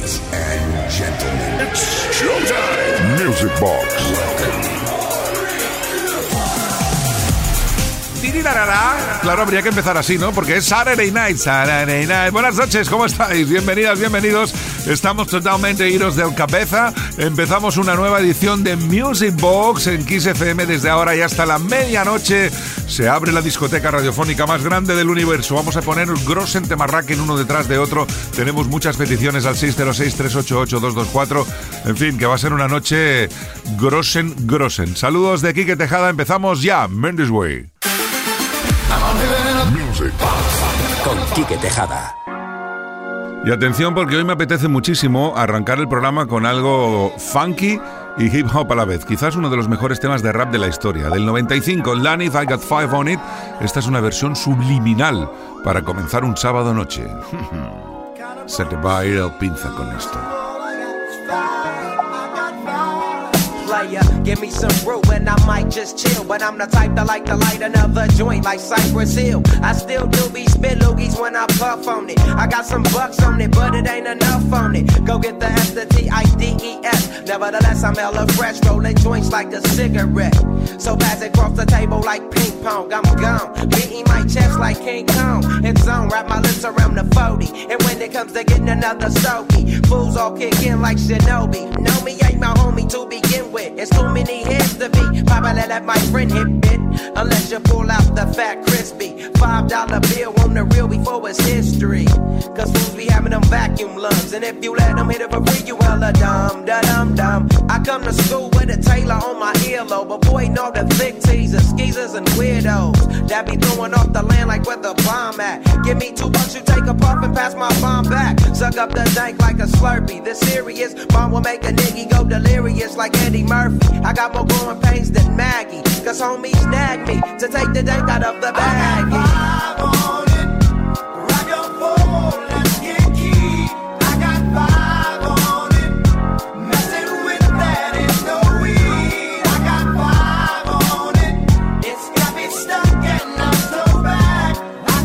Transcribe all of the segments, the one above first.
Ladies and gentlemen, it's showtime. Music Box. Claro, habría que empezar así, ¿no? Porque es Saturday Night. Buenas noches, ¿cómo estáis? Bienvenidas, bienvenidos. Estamos totalmente idos del cabeza. Empezamos una nueva edición de Music Box en Kiss FM desde ahora y hasta la medianoche. Se abre la discoteca radiofónica más grande del universo. Vamos a poner Grossen Temarraken uno detrás de otro. Tenemos muchas peticiones al 606-388-224. En fin, que va a ser una noche Grossen. Saludos de Quique Tejada. Empezamos ya. Mendes Way. Music con Quique Tejada. Y atención, porque hoy me apetece muchísimo arrancar el programa con algo funky y hip hop a la vez. Quizás uno de los mejores temas de rap de la historia. Del 95, Lanif, I Got Five on It. Esta es una versión subliminal para comenzar un sábado noche. Se te va a ir el pinza con esto. Give me some brew and I might just chill. But I'm the type that like to light another joint like Cypress Hill. I still do be spit loogies when I puff on it. I got some bucks on it, but it ain't enough on it. Go get the S, the T-I-D-E-S. Nevertheless, I'm hella fresh, rolling joints like a cigarette. So pass it across the table like ping pong, I'm gone. Beating my chest like King Kong. It's on, wrap my lips around the 40. And when it comes to getting another stogie, fools all kick in like Shinobi. Know me ain't my homie to begin with. It's too many heads to be. Probably let my friend hit it. Unless you pull out the fat crispy $5 bill on the real before it's history. Cause fools be having them vacuum lungs. And if you let them hit it for free, you hella dumb, da-dum-dum. I come to school with a tailor on my earlobe. But boy, know the thick teasers, skeezers, and weirdos that be throwing off the land like where the bomb at. Give me $2, you take a puff and pass my bomb back. Suck up the dank like a Slurpee. This serious bomb will make a nigga go delirious like Eddie Murphy. I got more growing pains than Maggie. Cause homies nag me to take the dank out of the baggie. I got 5 on it. Rock your phone, let's get key. I got 5 on it. Messing with that is no weed. I got 5 on it. It's got me stuck and I'm so back. I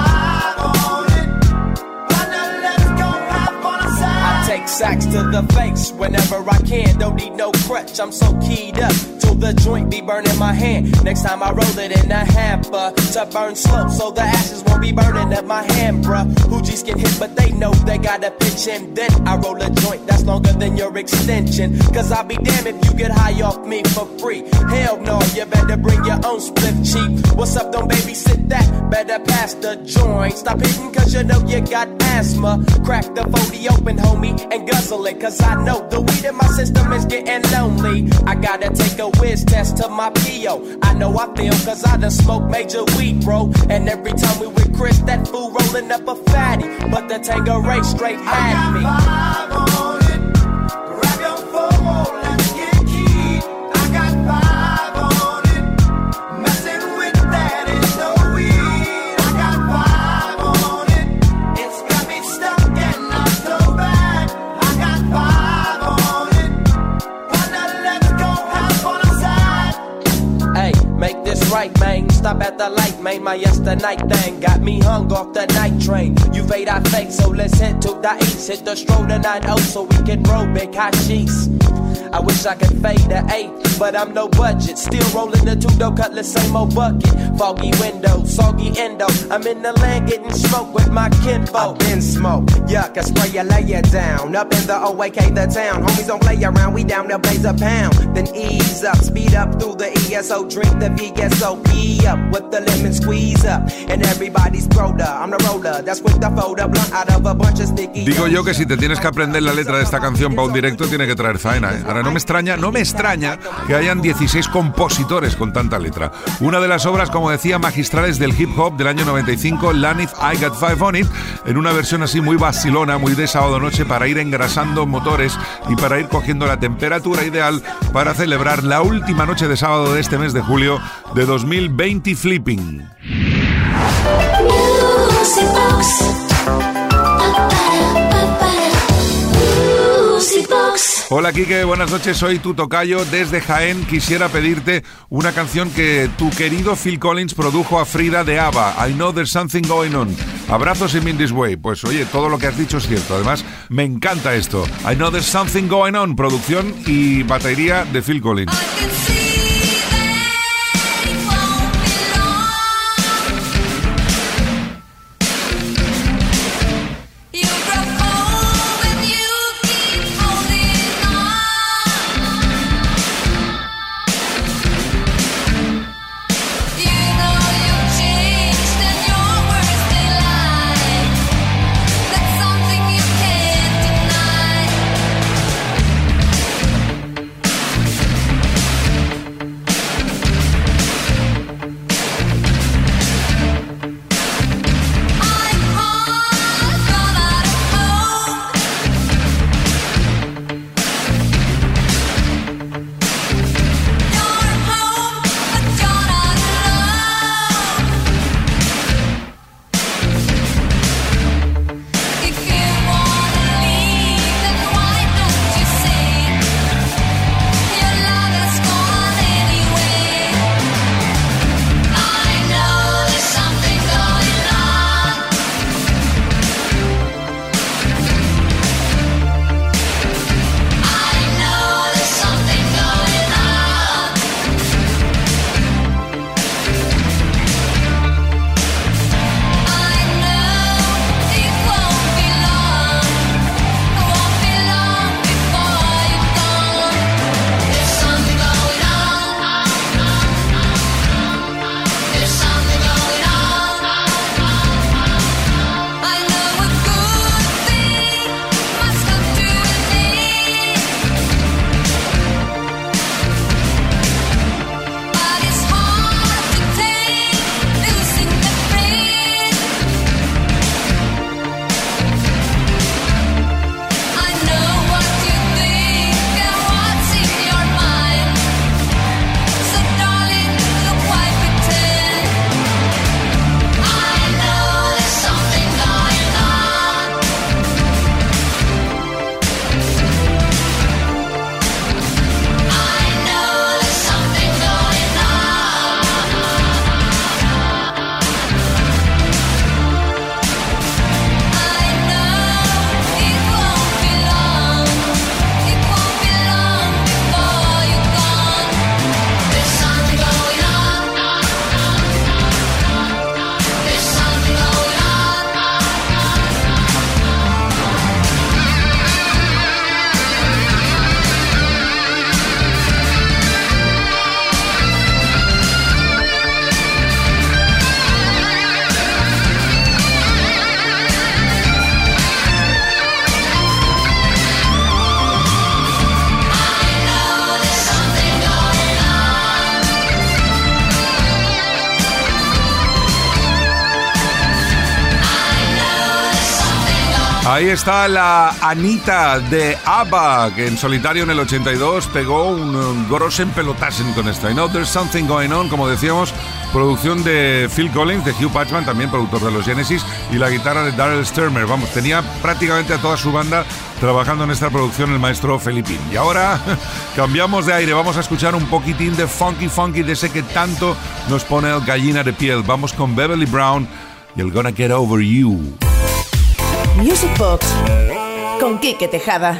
got 5 on it. But now let's go have fun aside. I take sacks to the face whenever I can. Don't need no crutch, I'm so keyed up. The joint be burning my hand. Next time I roll it in a hamper to burn slow, so the ashes won't be burning up my hand, bruh. Hoogies get hit, but they know they gotta pitch in. Then I roll a joint that's longer than your extension. Cause I'll be damned if you get high off me for free. Hell no, you better bring your own split cheap. What's up, don't babysit that? Better pass the joint. Stop hitting cause you know you got asthma. Crack the 40 open, homie, and guzzle it. Cause I know the weed in my system is getting lonely. I gotta take a whiz test to my P.O. I know I feel cause I done smoked major weed, bro. And every time we with Chris, that fool rolling up a fatty. But the Tangeray straight had me. I got 5 on it. Grab your phone, let's get key. I got 5 on it. Messing with that is no weed. I got 5 on it. It's got me stuck and I'm so bad. I got 5 on it. But now let's go have fun aside. Hey, make this right, man. Stop at the light, man. My yesterday thing got me hung off the night train. You fade, I fake, so let's head to the east. Hit the stroll to 9-0 so we can roll big hot sheets. I wish I could fade the 8, but I'm no budget. Still rolling the 2-door cutlass, same old bucket. Foggy windows, soggy endo. I'm in the land getting smoke with my kinfolk. I've been smoked, yuck, I spray you, lay it down. Up in the OAK, the town. Homies don't play around, we down there blaze a pound. Then ease up, speed up through the ESO. Drink the VSOP up with the lemon squeeze up. And everybody's broder, I'm the roller. That's quick to fold a blunt out of a bunch of sticky. Digo yo que si te tienes que aprender la letra de esta canción para un directo, tiene que traer faena, ¿eh? Ahora no me extraña que hayan 16 compositores con tanta letra. Una de las obras, como decía, magistrales del hip hop del año 95, Lanif, I Got Five on It, en una versión así muy vacilona, muy de sábado noche, para ir engrasando motores y para ir cogiendo la temperatura ideal para celebrar la última noche de sábado de este mes de julio de 2020 Flipping. Music Box. Music Box. Hola Quique, buenas noches, soy tu tocayo desde Jaén. Quisiera pedirte una canción que tu querido Phil Collins produjo a Frida de ABBA, I Know There's Something Going On. Abrazos y In This Way. Pues oye, todo lo que has dicho es cierto. Además, me encanta esto. I Know There's Something Going On, producción y batería de Phil Collins. Ahí está la Anita de ABBA, que en solitario en el 82 pegó un grossen pelotasen con esta. I Know There's Something Going On, como decíamos, producción de Phil Collins, de Hugh Patchman, también productor de los Genesis, y la guitarra de Daryl Stuermer. Vamos, tenía prácticamente a toda su banda trabajando en esta producción el maestro Felipín. Y ahora cambiamos de aire, vamos a escuchar un poquitín de funky de ese que tanto nos pone el gallina de piel. Vamos con Beverly Brown y el Gonna Get Over You. Music Box con Quique Tejada.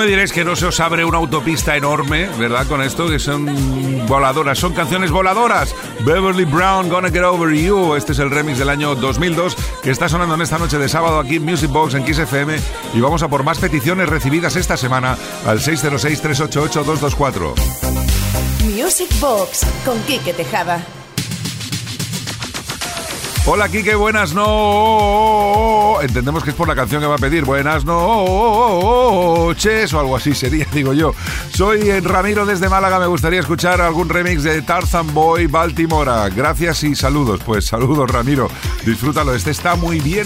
diréis que no se os abre una autopista enorme, ¿verdad? Con esto, que son voladoras, son canciones voladoras. Beverly Brown, Gonna Get Over You. Este es el remix del año 2002 que está sonando en esta noche de sábado aquí en Music Box en Kiss FM. Y vamos a por más peticiones recibidas esta semana al 606-388-224. Music Box con Quique Tejada. Hola, Quique, buenas no. Entendemos que es por la canción que va a pedir. Buenas noches o algo así sería, digo yo. Soy Ramiro desde Málaga. Me gustaría escuchar algún remix de Tarzan Boy Baltimora. Gracias y saludos. Pues saludos, Ramiro. Disfrútalo. Este está muy bien.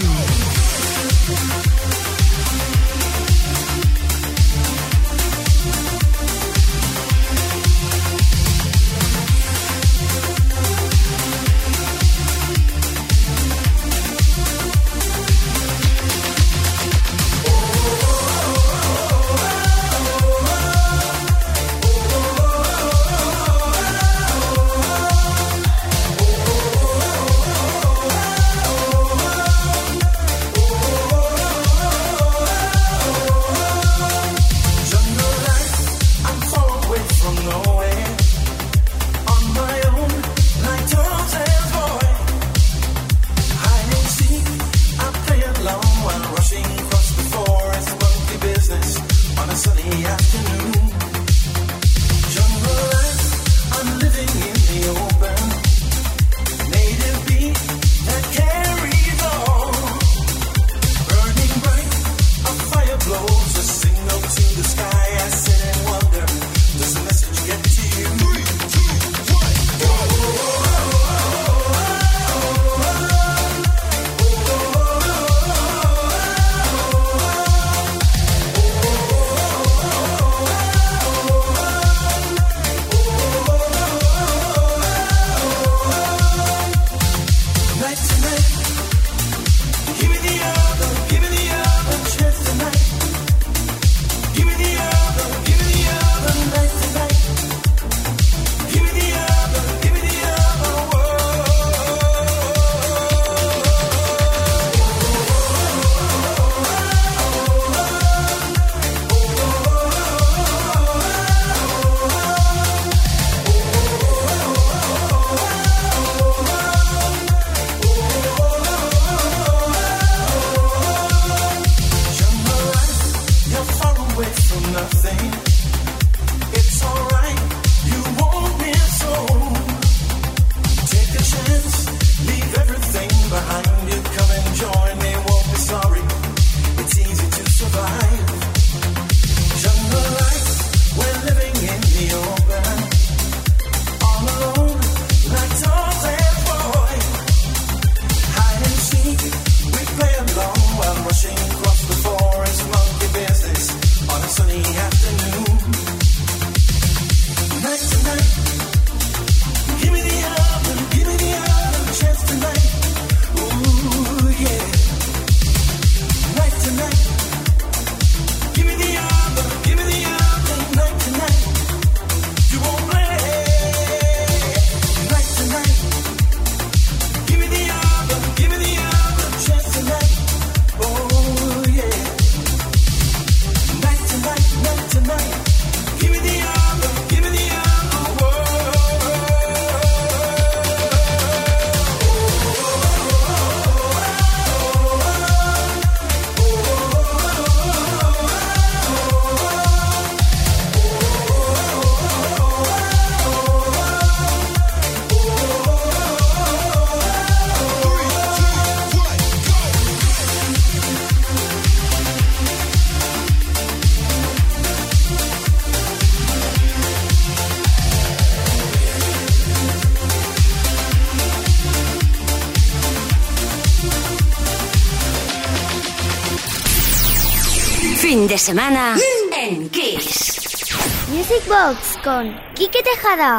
Fin de semana en Kiss. Music Box con Quique Tejada.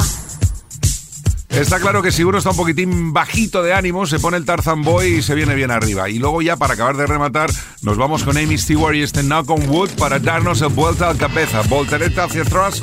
Está claro que si uno está un poquitín bajito de ánimo, se pone el Tarzan Boy y se viene bien arriba. Y luego ya, para acabar de rematar, nos vamos con Amy Stewart y este Knock on Wood para darnos el vuelta al cabeza. Voltereta hacia atrás.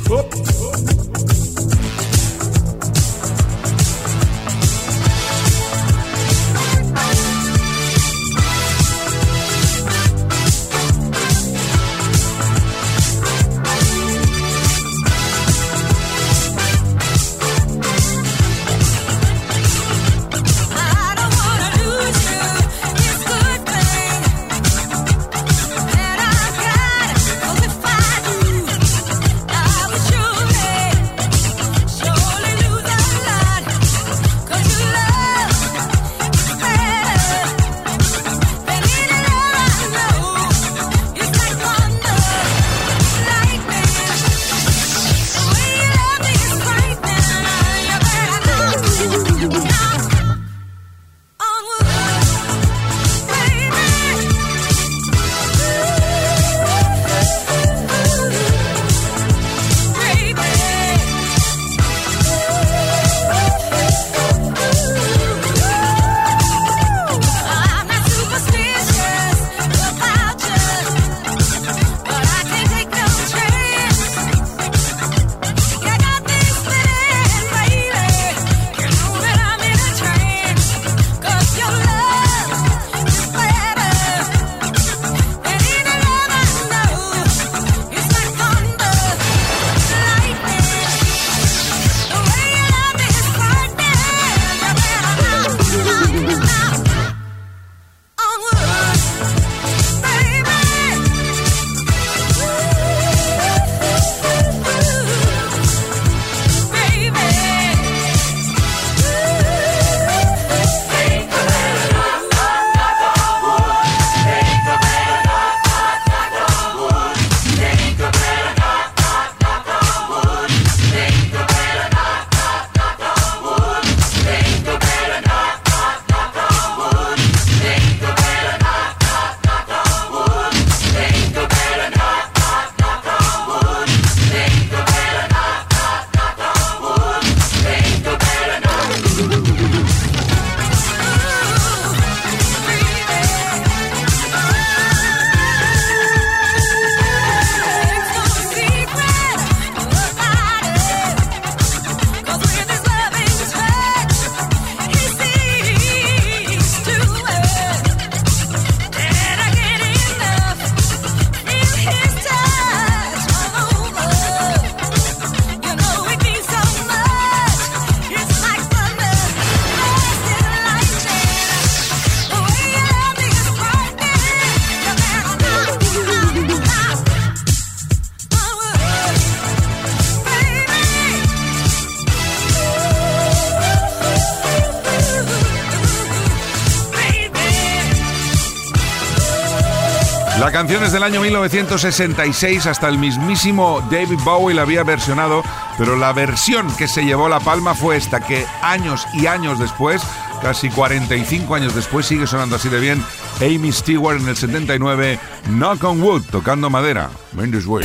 La canción es del año 1966, hasta el mismísimo David Bowie la había versionado, pero la versión que se llevó la palma fue esta, que años y años después, casi 45 años después, sigue sonando así de bien. Amy Stewart en el 79, Knock on Wood, tocando madera. Mendes Way.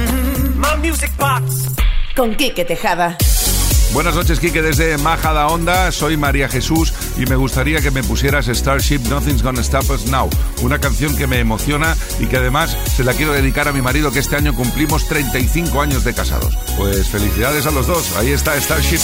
Con Quique Tejada. Buenas noches, Quique, desde Majadahonda. Soy María Jesús y me gustaría que me pusieras Starship, Nothing's Gonna Stop Us Now. Una canción que me emociona y que además se la quiero dedicar a mi marido, que este año cumplimos 35 años de casados. Pues felicidades a los dos. Ahí está Starship.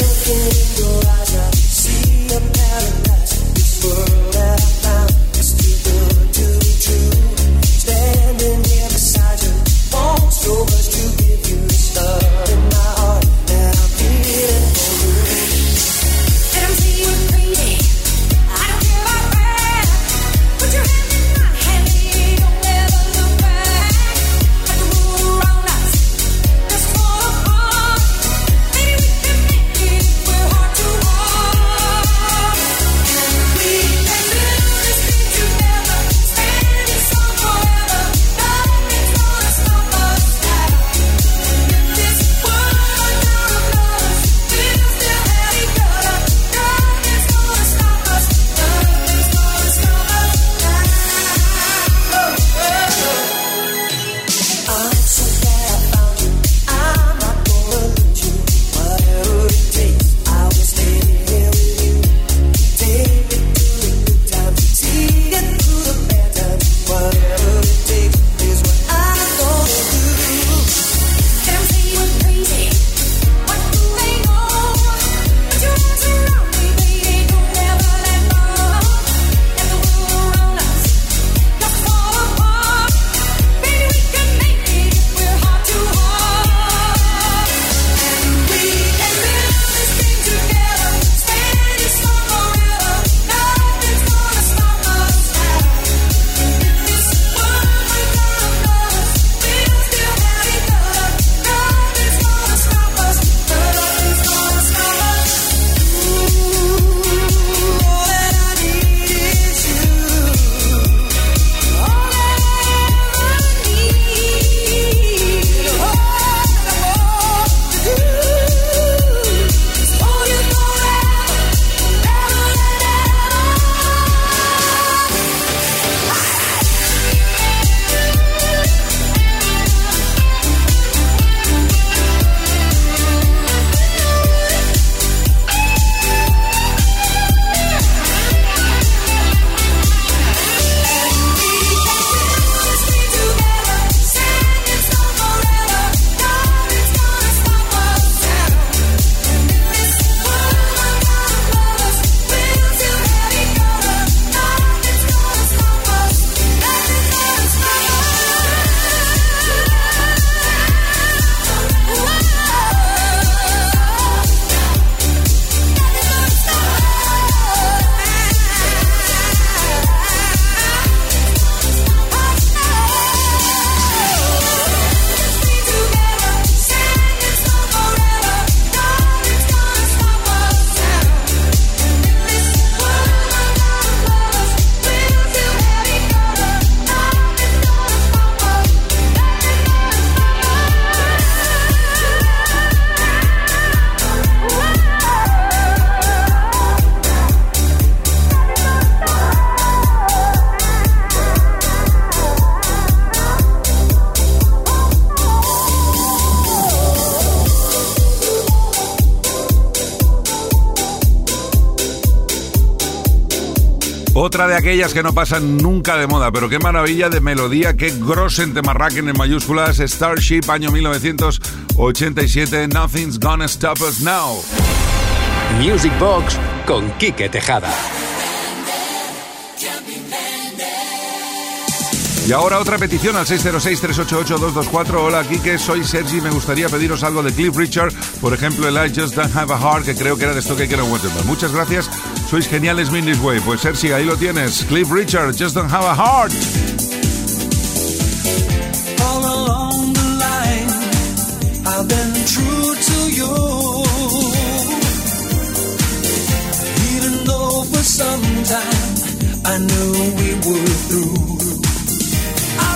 Otra de aquellas que no pasan nunca de moda, pero qué maravilla de melodía, qué grosen temarraquen en mayúsculas. Starship, año 1987, Nothing's Gonna Stop Us Now. Music Box con Quique Tejada. Y ahora otra petición al 606-388-224. Hola, Quique, soy Sergi. Me gustaría pediros algo de Cliff Richard. Por ejemplo, el I Just Don't Have a Heart, que creo que era de esto que quiero Waterman. Muchas gracias. Sois geniales, in this way. Pues Sergi, ahí lo tienes. Cliff Richard, Just Don't Have a Heart. All along the line, I've been true to you. Even though for some time I knew we were through. I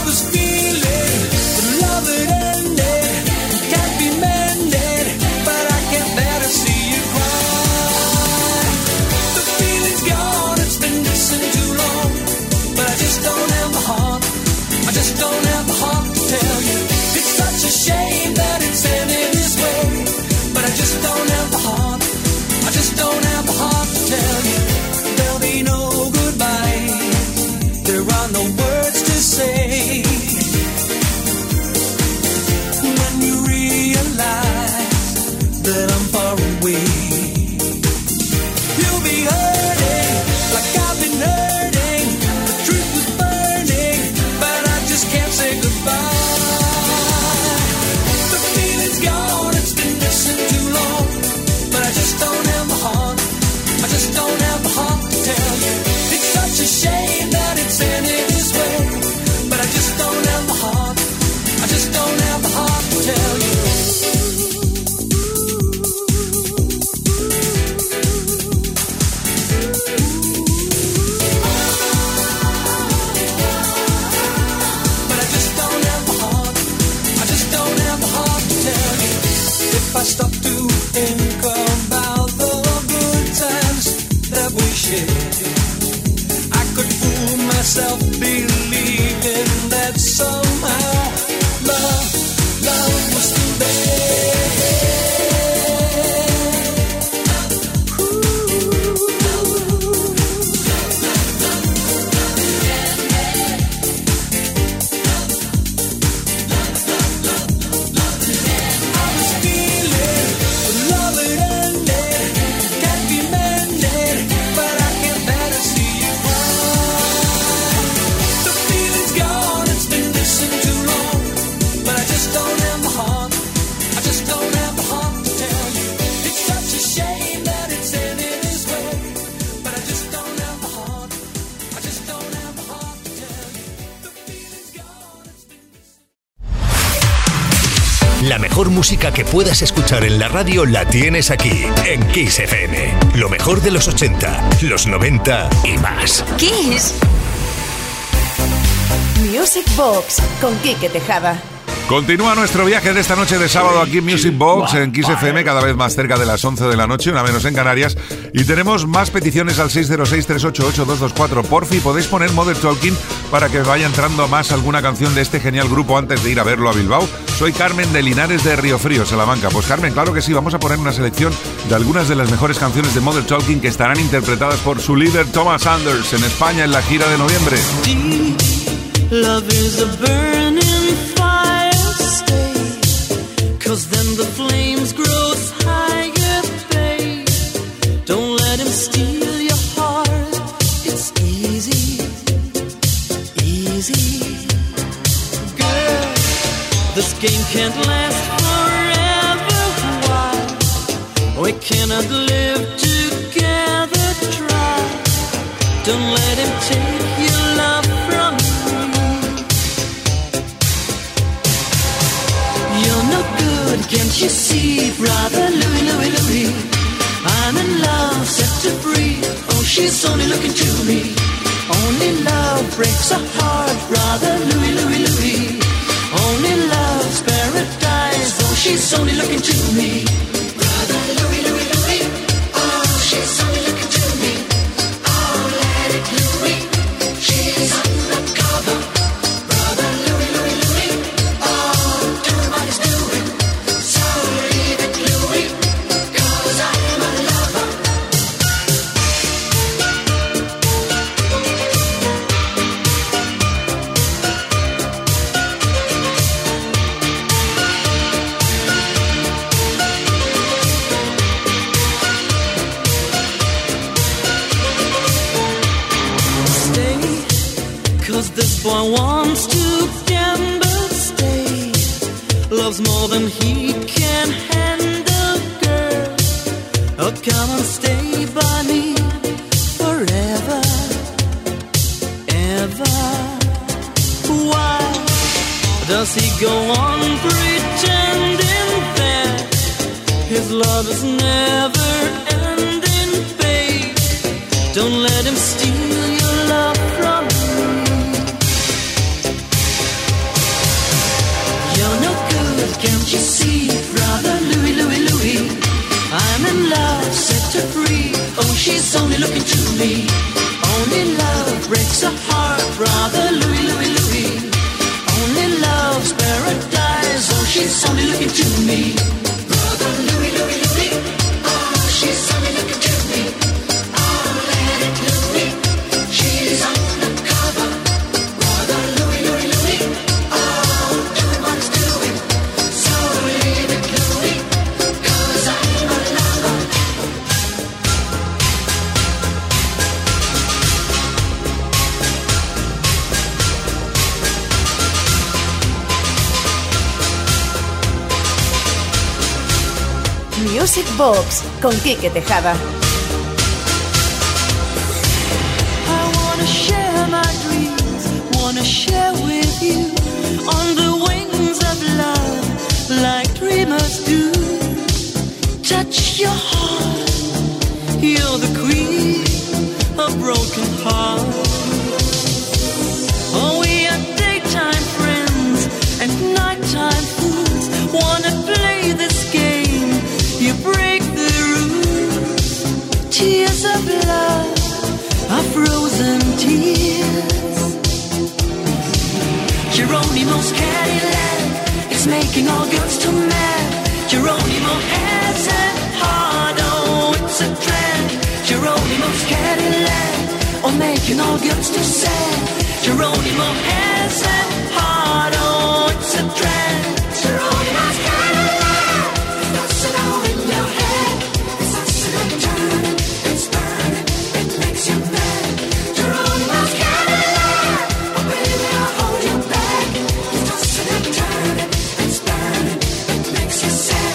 La mejor música que puedas escuchar en la radio la tienes aquí, en Kiss FM. Lo mejor de los 80, los 90 y más. Kiss. Music Box con Quique Tejada. Continúa nuestro viaje de esta noche de sábado aquí en Music Box, en Kiss FM, cada vez más cerca de las 11 de la noche, una menos en Canarias. Y tenemos más peticiones al 606-388-224. Porfi, podéis poner Modern Talking para que vaya entrando más alguna canción de este genial grupo antes de ir a verlo a Bilbao. Soy Carmen de Linares de Río Frío, Salamanca. Pues Carmen, claro que sí, vamos a poner una selección de algunas de las mejores canciones de Modern Talking que estarán interpretadas por su líder Thomas Anders en España en la gira de noviembre. Love is a burning fire, stay, 'cause then the flames grow higher, babe. Don't let him steal your heart, it's easy, easy. Girl, this game can't last forever, why? We cannot live together, try. Don't let him take your love from you. You're no good, can't you see, brother Louie, Louie, Louie? I'm in love, set to free. Oh, she's only looking to me. Only love breaks a heart, brother Louie, Louie, Louie. Only love's paradise. Oh, she's only looking to me. Brother Louie, Louie, Louie. Oh, she's only looking to me. Oh, let it Louie. She's undercover. Brother Louie, Louie, Louie. Oh, do what he's doing. So leave it Louie, 'cause I'm a lover. Stay, 'cause this boy wants to gamble. Stay, loves more than he can handle, girl. Oh, come and stay by me forever, ever. Why does he go on pretending that his love is never ending, babe? Don't let him steal your love from me. You're no good, can't you see, brother Louie, Louie, Louie? I'm in love, set her free. Oh, she's only looking to me. Only love breaks a heart, brother Louie, Louie, Louie. Only love's paradise. Oh, she's only looking to me. Brother Louie, Louie, Louie. Oh, she's only looking to me. Oh, let it Louie. She's undercover. Brother Louie, Louie, Louie. Oh, doing what he's doing. So leave it Louie, 'cause I'm a lover. Music Box con Quique Tejada. I wanna share my dreams, wanna share with you on the wings of love, like dreamers do. Touch your heart, you're the queen of broken hearts. Oh, we are daytime friends and nighttime fools. Wanna play this game, you break the rules. Tears of love are frozen tears. Geronimo's Cadillac is making all girls too mad. Geronimo has a heart, oh, it's a drag. Geronimo's Cadillac, oh, making all girls too sad. Geronimo has a heart, oh, it's a drag. Geronimo's Cadillac, it doesn't all in your head. It's oscillating, turning, it's burning, it makes you mad. Geronimo's Cadillac, oh baby, I'll hold you back. It's oscillating, turning, it's burning, it makes you sad.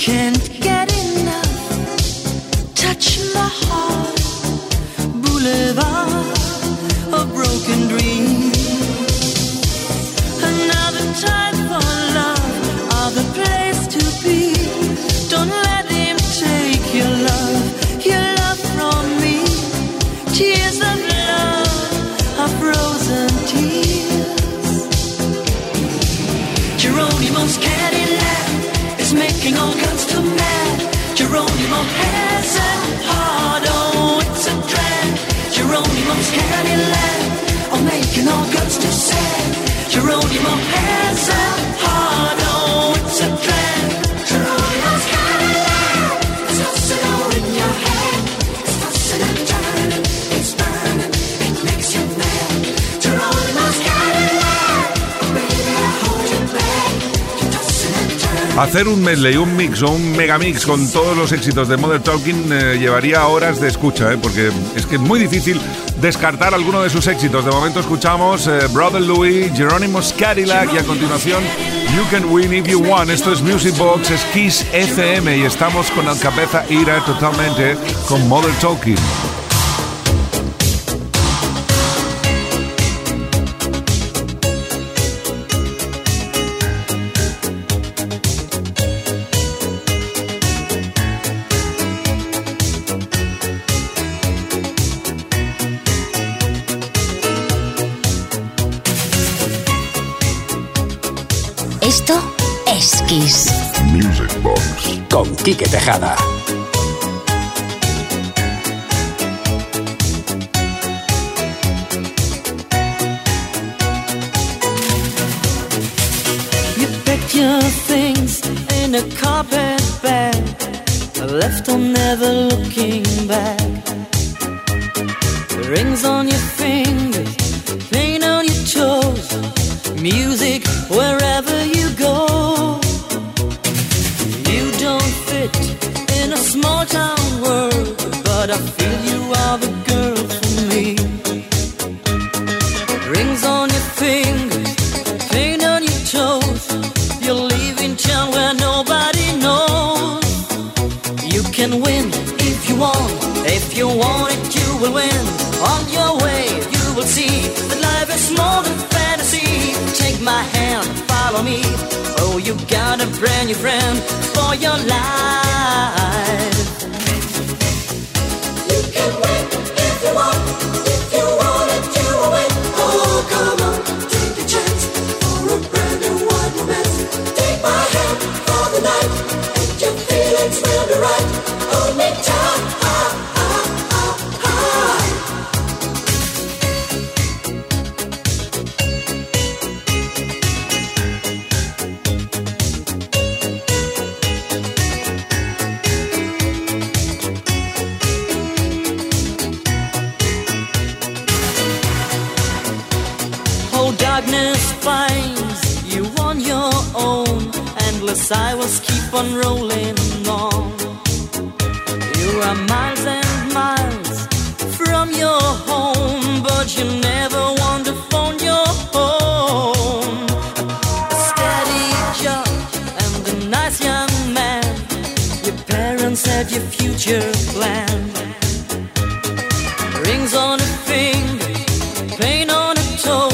can't get enough. Touch my heart, boulevard of broken dreams. Another time for love, other place to be. Don't let him take your love from me. Tears of love are frozen tears. Geronimo's Cadillac is making all guns too mad. Geronimo has a heart, oh, it's a drag. Geronimo's Cadillac, oh, making all guns too sad. Geronimo has a heart, oh, it's a drag. Geronimo's Cadillac, it's tossing all in your head. It's tossing and turning, it's burning, it makes you mad. Geronimo's Cadillac, oh, baby, I hold you back. You're tossing and turning. Hacer un medley, un mix o un megamix con todos los éxitos de Modern Talking llevaría horas de escucha, porque es que es muy difícil descartar alguno de sus éxitos. De momento escuchamos Brother Louie, Geronimo's Cadillac y a continuación You Can Win If You Want. Esto es Music Box, es Kiss FM y estamos con el cabeza ira totalmente con Modern Talking. Esto es Kiss. Music Box con Quique Tejada. You packed your things in a carpet bag, left on never looking back. Rings on your fingers, paint on your toes, music wherever you go. You don't fit in a small town world, but I feel you are the girl for me. Rings on your fingers, paint on your toes, you're leaving town where nobody knows. You can win if you want it you will win. On your way you will see that life is more than fantasy. Take my hand, follow me. Oh, you got a brand new friend for your life. You can win if you want it, you will win. Oh, come on, take a chance for a brand new wide romance. Take my hand for the night, and your feelings will be right. Hold me tight. Darkness finds you on your own. Endless highways keep on rolling on. You are miles and miles from your home, but you never want to phone your home. A steady job and a nice young man. Your parents had your future planned. Rings on a finger, paint on a toe.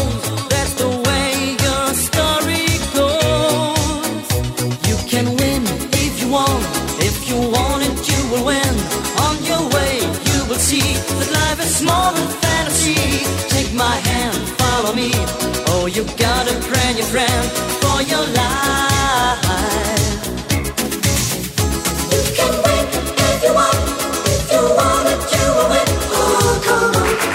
More than fantasy. Take my hand, follow me. Oh, you got a brand new friend for your life. You can win if you want it, you will win. Oh, come on.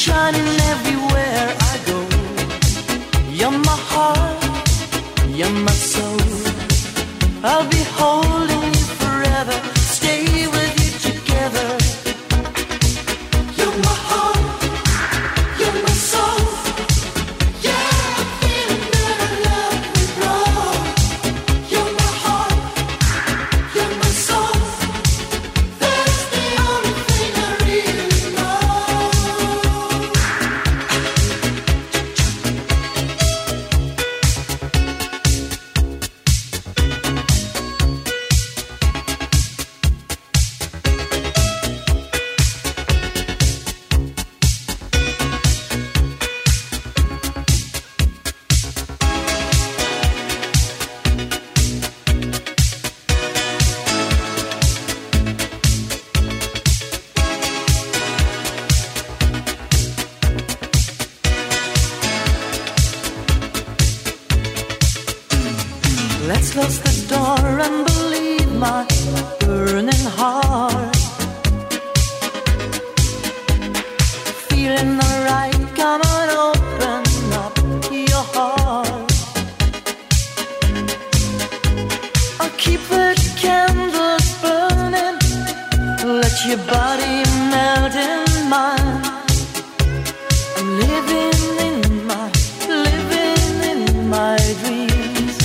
shining everywhere I go. You're my heart, you're my soul. I'll be holding you forever, stay with you together. You're my heart, you're my soul. Yeah, I'm feeling that I love you, bro. You're my heart, you're my soul. That's the only thing I really know. Let's close the door and believe my burning heart. Feeling alright, come on, open up your heart. I'll keep the candles burning, let your body melt in mine. I'm living in my dreams.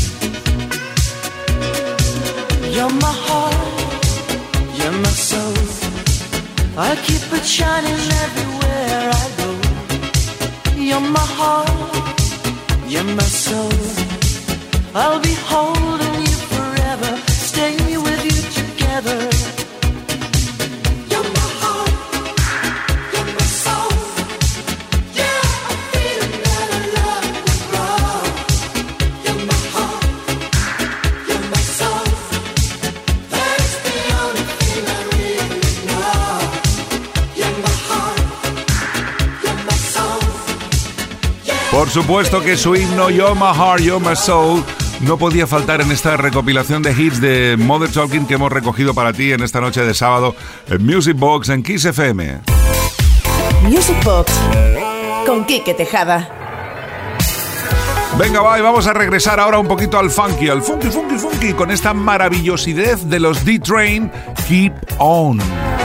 You're my heart, you're my soul. I'll keep it shining everywhere I go. You're my heart, you're my soul. I'll be holding you forever, stay with you together. You're my heart, you're my soul. Yeah, I'm feeling that I love you, bro. You're my heart, you're my soul. That's the only thing I really know. You're my heart, you're my soul. Por supuesto que su himno You're My Heart, You're My Soul no podía faltar en esta recopilación de hits de Modern Talking que hemos recogido para ti en esta noche de sábado en Music Box en Kiss FM. Music Box con Quique Tejada. Venga, va, y vamos a regresar ahora un poquito al funky, al funky, con esta maravillosidad de los D-Train, Keep On.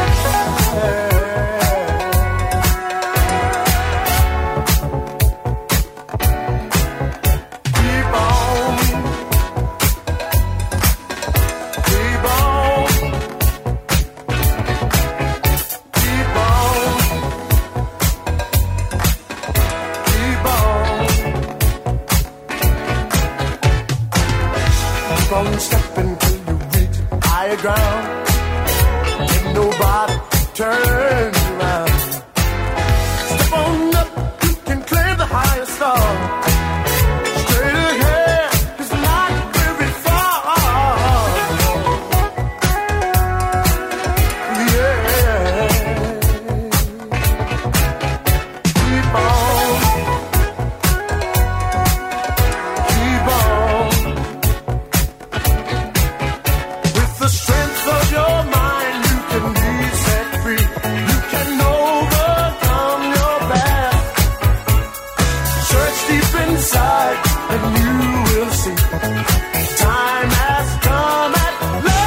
Step until you reach higher ground. Ain't nobody turn you around. Step on up, you can claim the highest star. Straight ahead, it's not very far. Yeah. Keep on. Keep on. With the strength of your mind, you can be set free. You can overcome your past. Search deep inside, and you will see. Time has come at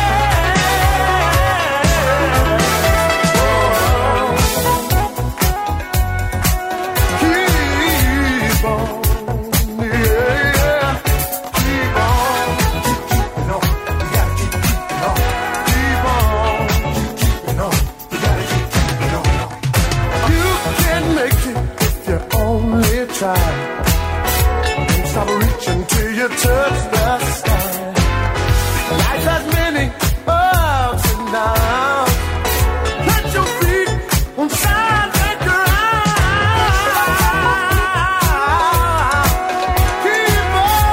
last. Keep on, yeah. Keep on, keep on. You gotta keep keeping on. Keep on, keep keeping on. You gotta keep keeping on. You can make it if you only try. Don't stop reaching till you touch the sky. Life has many ups and downs. Plant your feet on solid ground. Keep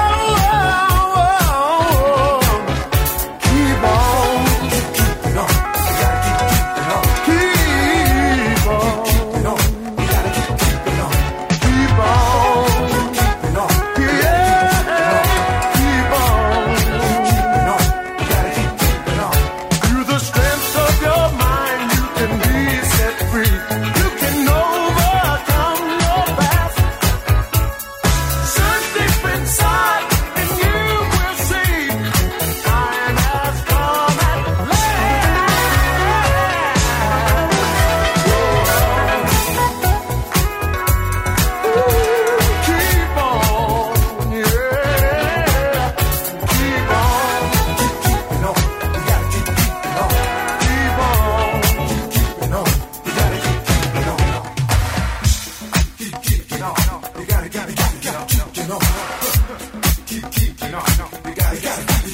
on, keep keeping on. You gotta keep keeping on. Keep on, you gotta keep keeping on. Keep on, keep keeping on. Yeah, keep on.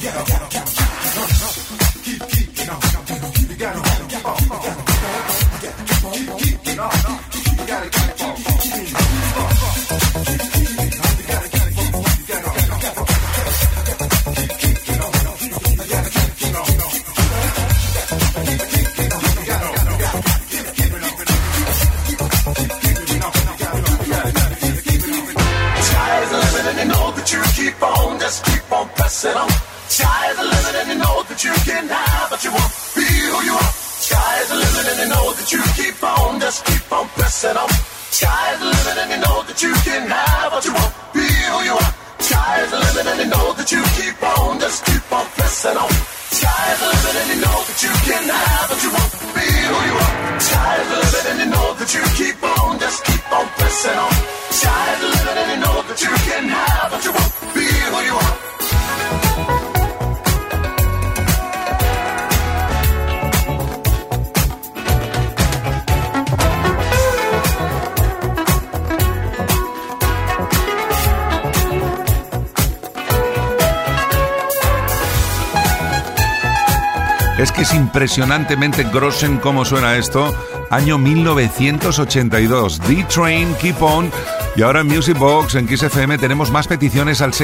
Es que es impresionantemente grossen cómo suena esto. Año 1982. D-Train, Keep On. Y ahora en Music Box, en Kiss FM, tenemos más peticiones al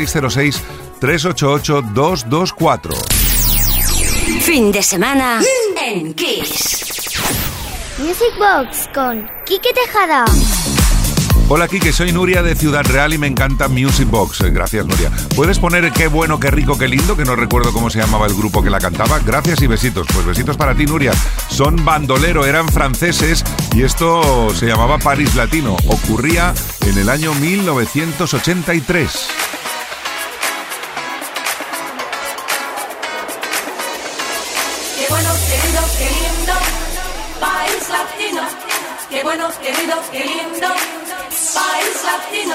606-388-224. Fin de semana en Kiss. Music Box con Quique Tejada. Hola Quique, soy Nuria de Ciudad Real y me encanta Music Box. Gracias, Nuria. ¿Puedes poner Qué bueno, qué rico, qué lindo? Que no recuerdo cómo se llamaba el grupo que la cantaba. Gracias y besitos. Pues besitos para ti, Nuria. Son Bandolero, eran franceses y esto se llamaba Paris Latino. Ocurría en el año 1983. Qué bueno, querido, qué lindo, País Latino. Qué bueno, querido, qué lindo, País Latino.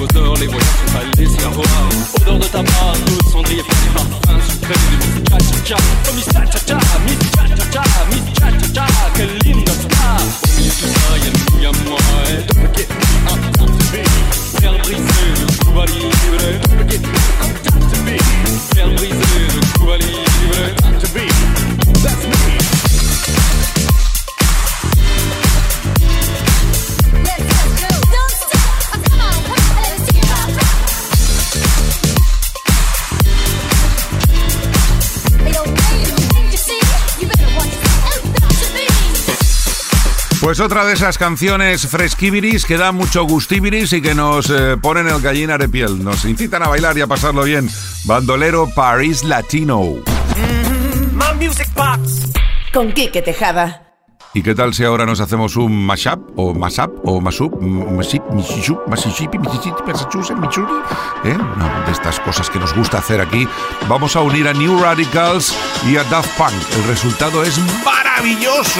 imposteur, les voyants sont allés s'y avoir. Odeur de tabac, d'eau de cendrier, fini parfum sucré de Miss Cha-Cha-Cha. Oh Miss Cha-Cha-Cha, Miss Cha-Cha-Cha, Miss Cha-Cha-Cha, quelle linda star. Au milieu de tout ça, y'a nous, y'a moi, et don't get me up to be. Faire briser le Cuba libre, don't get me up to be. Faire briser le Cuba libre, to be. That's me. Pues otra de esas canciones fresquibiris que dan mucho gustibiris y que nos ponen el gallina de piel. Nos incitan a bailar y a pasarlo bien. Bandolero Paris Latino. My Music Box con Quique Tejada. ¿Y qué tal si ahora nos hacemos un mashup o mashup, Mississippi, Massachusetts, Missouri? No, de estas cosas que nos gusta hacer aquí. Vamos a unir a New Radicals y a Daft Punk. El resultado es maravilloso.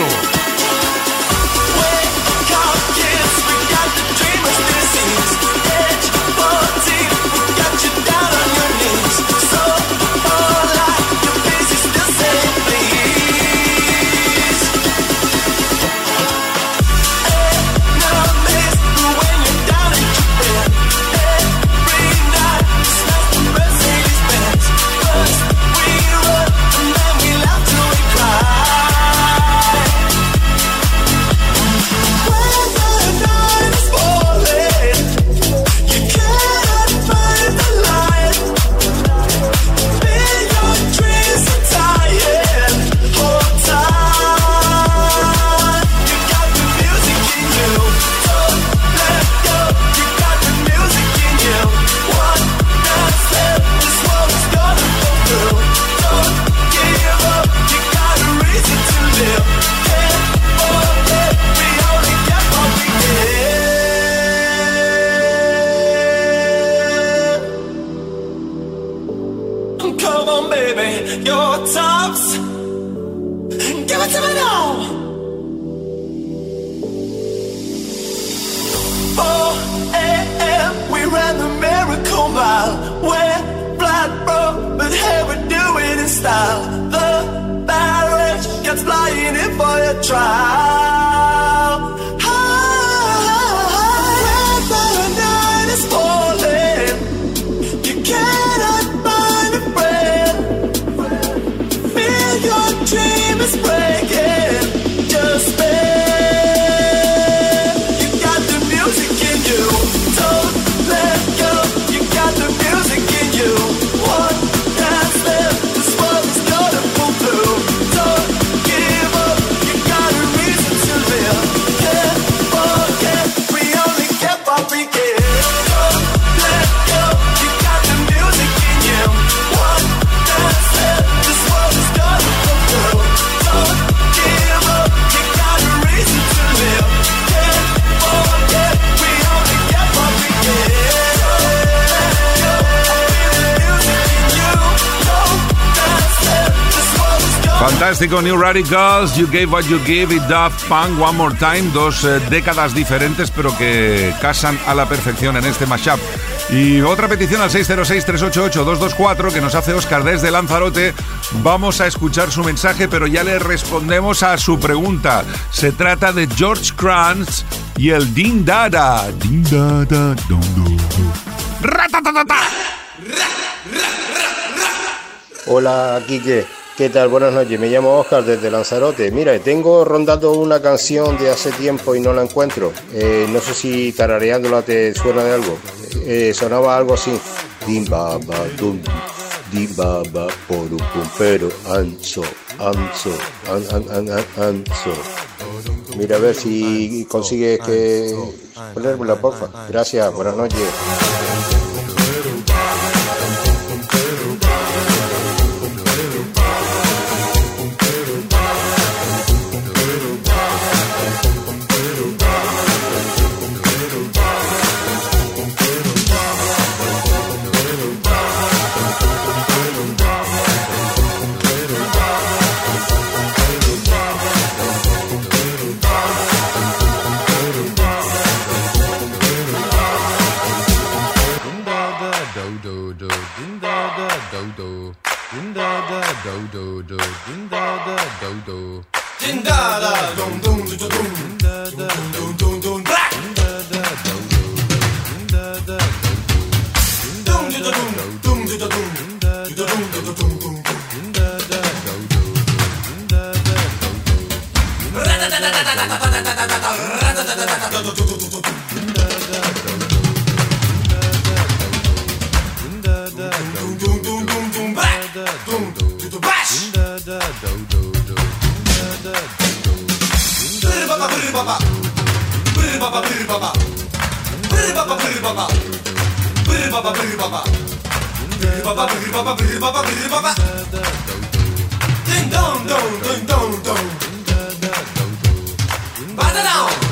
Fantástico, New Radicals, You Gave What You Give y Daft Punk, One More Time, dos décadas diferentes pero que casan a la perfección en este mashup. Y otra petición al 606-388-224 que nos hace Óscar desde Lanzarote. Vamos a escuchar su mensaje, pero ya le respondemos a su pregunta. Se trata de George Kranz y el Din Dada. Din Dada, dum, dum, dum. ¡Ratatatata! Hola, Quique. ¿Qué tal? Buenas noches, me llamo Óscar desde Lanzarote. Mira, tengo rondando una canción de hace tiempo y no la encuentro. No sé si tarareándola te suena de algo. Sonaba algo así. Dim baba dum, dim baba porum pum pero anso, anso, anso. Mira a ver si consigues que ponérmela, porfa. Gracias, buenas noches. Ding dong dong ding dong dong. Bada down.